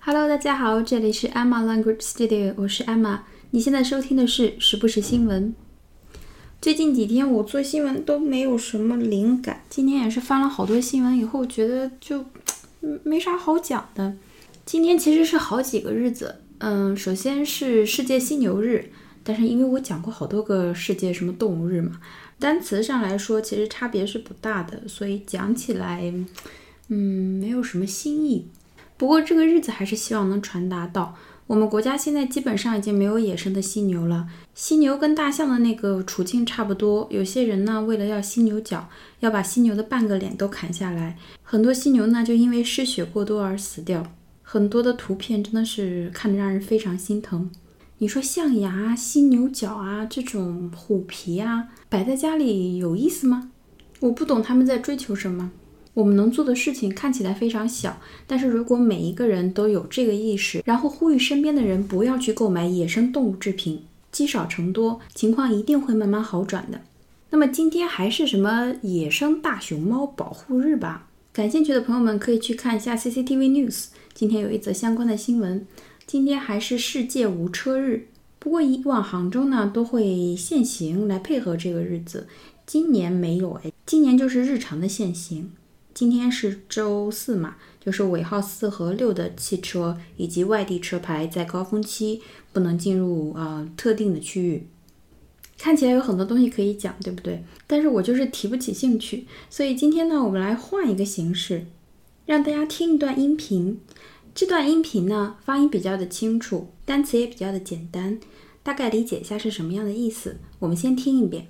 Hello， 大家好，这里是 Emma Language Studio， 我是 Emma。你现在收听的是时不时新闻。最近几天我做新闻都没有什么灵感，今天也是翻了好多新闻以后，觉得就没啥好讲的。今天其实是好几个日子，首先是世界犀牛日，但是因为我讲过好多个世界什么动物日嘛，单词上来说其实差别是不大的，所以讲起来没有什么新意。不过这个日子还是希望能传达到，我们国家现在基本上已经没有野生的犀牛了。犀牛跟大象的那个处境差不多，有些人呢为了要犀牛角，要把犀牛的半个脸都砍下来，很多犀牛呢就因为失血过多而死掉。很多的图片真的是看着让人非常心疼。你说象牙、犀牛角啊，这种虎皮啊，摆在家里有意思吗？我不懂他们在追求什么。我们能做的事情看起来非常小，但是如果每一个人都有这个意识，然后呼吁身边的人不要去购买野生动物制品，积少成多，情况一定会慢慢好转的。那么今天还是什么野生大熊猫保护日吧？感兴趣的朋友们可以去看一下 CCTV News， 今天有一则相关的新闻。今天还是世界无车日，不过以往杭州呢都会限行来配合这个日子，今年没有今年就是日常的限行。今天是周四嘛，就是尾号4和6的汽车以及外地车牌在高峰期不能进入特定的区域。看起来有很多东西可以讲，对不对？但是我就是提不起兴趣，所以今天呢，我们来换一个形式，让大家听一段音频。这段音频呢，发音比较的清楚，单词也比较的简单，大概理解一下是什么样的意思。我们先听一遍。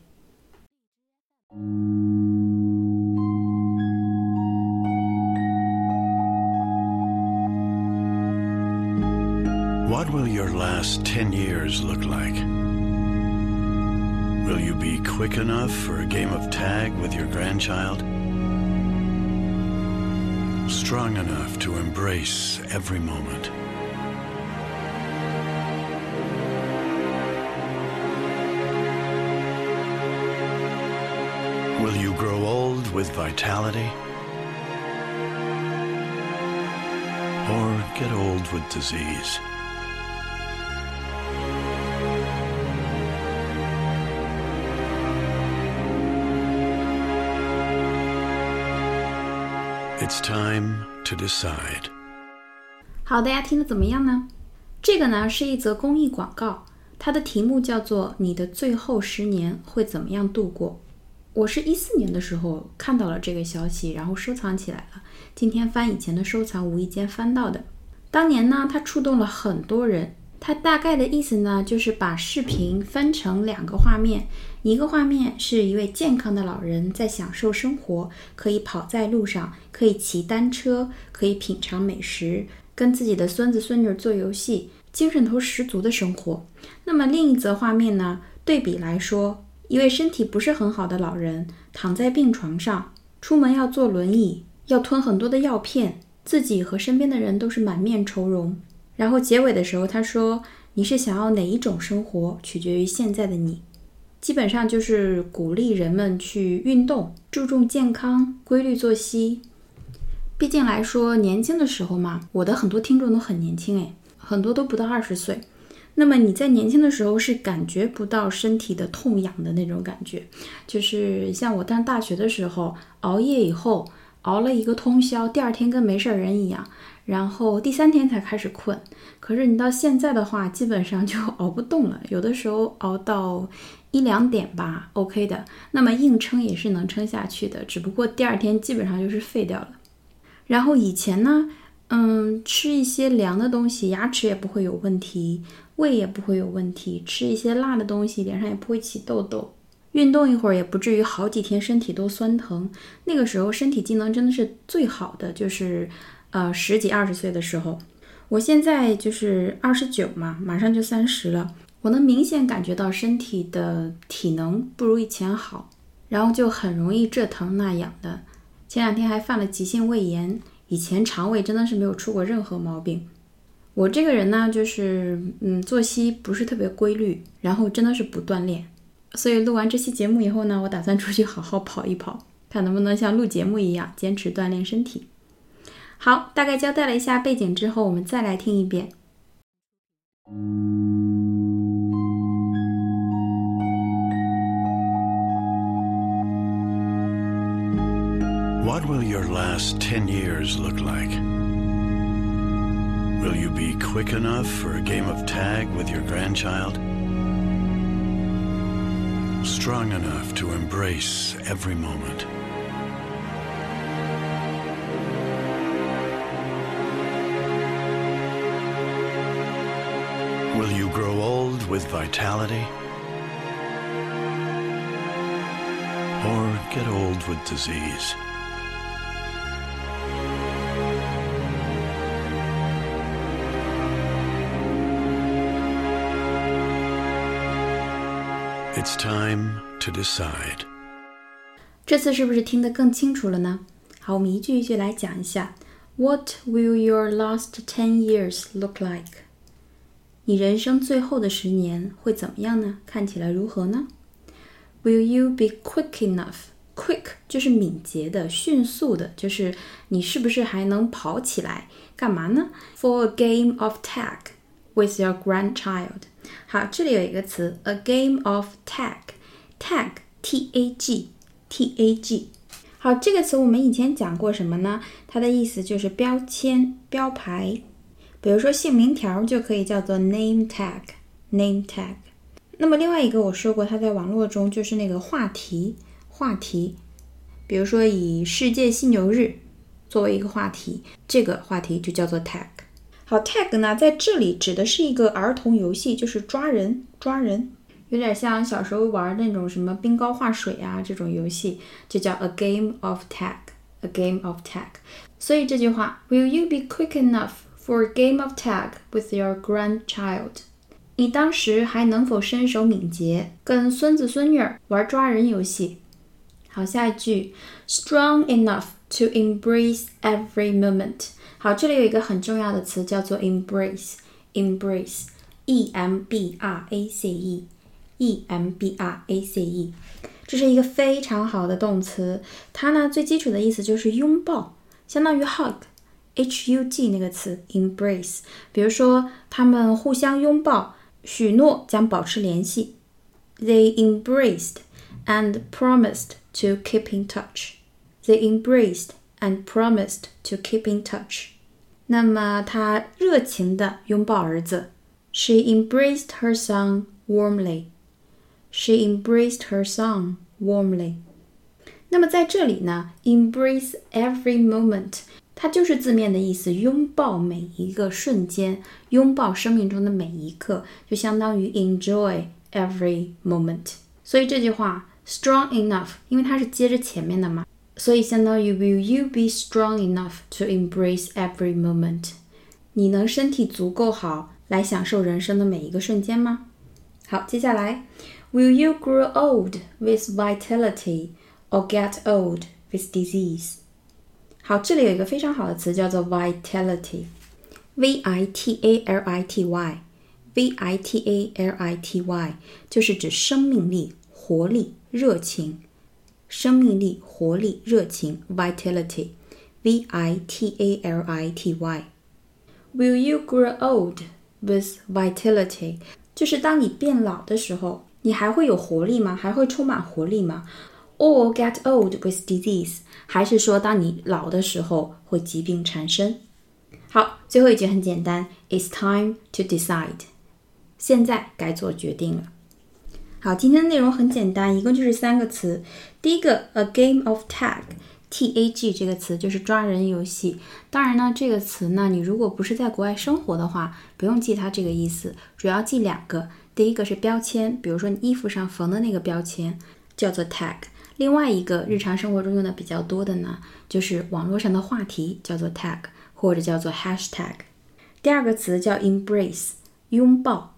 What will your last 10 years look like? Will you be quick enough for a game of tag with your grandchild? Strong enough to embrace every moment? Will you grow old with vitality? Or get old with disease? It's time to decide. 好，大家听得怎么样呢？这个呢是一则公益广告，它的题目叫做你的最后10年会怎么样度过。我是14年的时候看到了这个消息，然后收藏起来了，今天翻以前的收藏无意间翻到的。当年呢它触动了很多人，它大概的意思呢就是把视频分成2个画面，一个画面是一位健康的老人在享受生活，可以跑在路上，可以骑单车，可以品尝美食，跟自己的孙子孙女做游戏，精神头十足的生活。那么另一则画面呢，对比来说，一位身体不是很好的老人躺在病床上，出门要坐轮椅，要吞很多的药片，自己和身边的人都是满面愁容。然后结尾的时候他说，你是想要哪一种生活，取决于现在的你。基本上就是鼓励人们去运动，注重健康，规律作息。毕竟来说，年轻的时候嘛，我的很多听众都很年轻很多都不到20岁。那么你在年轻的时候是感觉不到身体的痛痒的那种感觉，就是像我上大学的时候，熬夜以后熬了一个通宵，第2天跟没事人一样，然后第3天才开始困。可是你到现在的话，基本上就熬不动了，有的时候熬到1-2点吧 OK 的，那么硬撑也是能撑下去的，只不过第2天基本上就是废掉了。然后以前呢吃一些凉的东西，牙齿也不会有问题，胃也不会有问题，吃一些辣的东西，脸上也不会起痘痘，运动一会儿也不至于好几天身体都酸疼。那个时候身体机能真的是最好的，就是10几20岁的时候。我现在就是29嘛，马上就30了，我能明显感觉到身体的体能不如以前好，然后就很容易这疼那痒的。前2天还犯了急性胃炎，以前肠胃真的是没有出过任何毛病。我这个人呢，就是作息不是特别规律，然后真的是不锻炼，所以录完这期节目以后呢，我打算出去好好跑一跑，看能不能像录节目一样坚持锻炼身体。 好，大概交代了一下背景之后，我们再来听一遍。 What will your last 10 years look like? Will you be quick enough for a game of tag with your grandchild? Strong enough to embrace every moment? Will you grow old with vitality? Or get old with disease? It's time to decide. 这次是不是听得更清楚了呢？好，我们一句一句来讲一下。What will your last 10 years look like? 你人生最后的10年会怎么样呢？看起来如何呢？ Will you be quick enough? Quick 就是敏捷的、迅速的，就是你是不是还能跑起来？干嘛呢？ For a game of tag with your grandchild. 好，这里有一个词 a game of tag. Tag, T-A-G, T-A-G. 好，这个词我们以前讲过什么呢？它的意思就是标签、标牌。比如说姓名条就可以叫做 name tag, name tag. 那么另外一个我说过，它在网络中就是那个话题。比如说以世界犀牛日作为一个话题，这个话题就叫做 tag。好 tag 呢，在这里指的是一个儿童游戏，就是抓人，有点像小时候玩那种什么冰糕画水啊这种游戏，就叫 a game of tag, a game of tag。 所以这句话 Will you be quick enough for a game of tag with your grandchild? 你当时还能否身手敏捷，跟孙子孙女玩抓人游戏？好，下一句 Strong enough to embrace every moment。 好，这里有一个很重要的词叫做 embrace, E-M-B-R-A-C-E, E-M-B-R-A-C-E。 这是一个非常好的动词，它呢最基础的意思就是拥抱，相当于 hug, H-U-G 那个词 embrace。 比如说他们互相拥抱，许诺将保持联系。 They embraced and promised to keep in touch. They embraced and promised to keep in touch. 那么他热情地拥抱儿子。 She embraced her son warmly. She embraced her son warmly. 那么在这里呢 embrace every moment 它就是字面的意思，拥抱每一个瞬间，拥抱生命中的每一刻，就相当于 enjoy every moment。 所以这句话 strong enough 因为它是接着前面的嘛，所以相当于 Will you be strong enough to embrace every moment? 你能身体足够好来享受人生的每一个瞬间吗？好，接下来 Will you grow old with vitality or get old with disease? 好，这里有一个非常好的词叫做 vitality, V-I-T-A-L-I-T-Y, V-I-T-A-L-I-T-Y 就是指生命力、活力、热情。生命力、活力、热情 vitality, V-I-T-A-L-I-T-Y. Will you grow old with vitality? 就是当你变老的时候，你还会有活力吗？还会充满活力吗？ Or get old with disease? 还是说当你老的时候会疾病缠身？好，最后一句很简单 It's time to decide. 现在该做决定了。好，今天的内容很简单，一共就是3个词。第一个 a game of tag, T-A-G 这个词就是抓人游戏。当然呢，这个词呢，你如果不是在国外生活的话，不用记它这个意思，主要记2个。第一个是标签，比如说你衣服上缝的那个标签叫做 tag。另外一个日常生活中用的比较多的呢，就是网络上的话题叫做 tag 或者叫做 hashtag。第2个词叫 embrace, 拥抱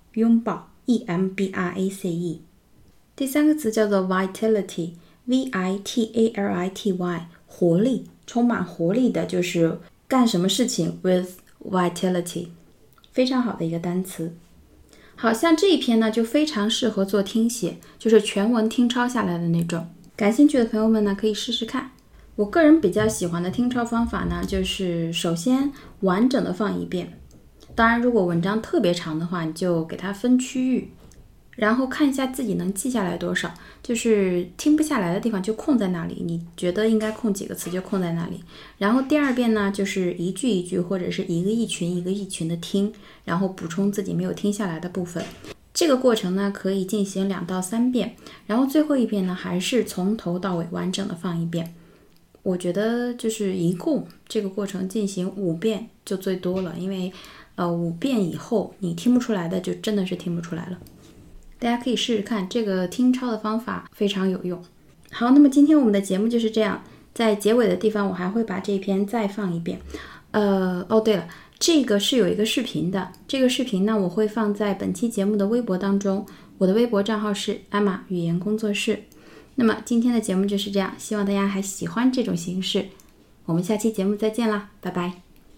E-M-B-R-A-C-E。第3个词叫做 vitality, V-I-T-A-L-I-T-Y, 活力，充满活力的，就是干什么事情 with vitality。 非常好的一个单词。好，像这一篇呢就非常适合做听写，就是全文听抄下来的那种。感兴趣的朋友们呢可以试试看。 我个人比较喜欢的听抄方法呢，就是首先完整的放一遍，当然如果文章特别长的话，你就给它分区域，然后看一下自己能记下来多少，就是听不下来的地方就空在那里，你觉得应该空几个词就空在那里。然后第二遍呢，就是一句一句或者是一个一群一个一群的听，然后补充自己没有听下来的部分。这个过程呢可以进行2到3遍，然后最后一遍呢还是从头到尾完整的放一遍。我觉得就是一共这个过程进行5遍就最多了，因为5遍以后你听不出来的就真的是听不出来了。大家可以试试看，这个听抄的方法非常有用。好，那么今天我们的节目就是这样，在结尾的地方我还会把这篇再放一遍。对了，这个是有一个视频的，这个视频呢我会放在本期节目的微博当中，我的微博账号是艾玛语言工作室。那么今天的节目就是这样，希望大家还喜欢这种形式，我们下期节目再见啦，拜拜。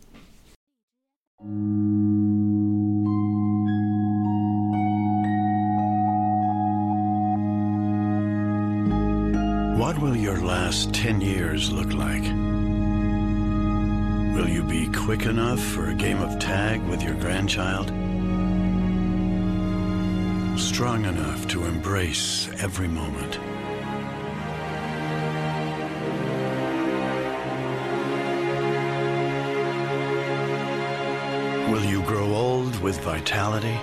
What will your last 10 years look like? Will you be quick enough for a game of tag with your grandchild? Strong enough to embrace every moment? Will you grow old with vitality?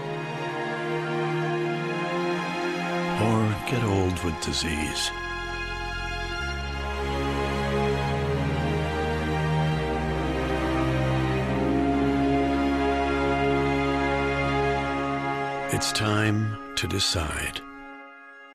Or get old with disease? It's time to decide.